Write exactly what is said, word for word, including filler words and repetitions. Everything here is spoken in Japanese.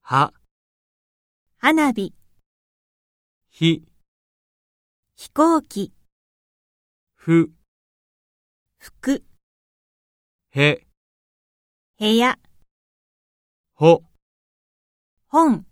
は、 花火、 ひ、 飛行機、 ふ、 服、 へ、 部屋、 ほ。 本。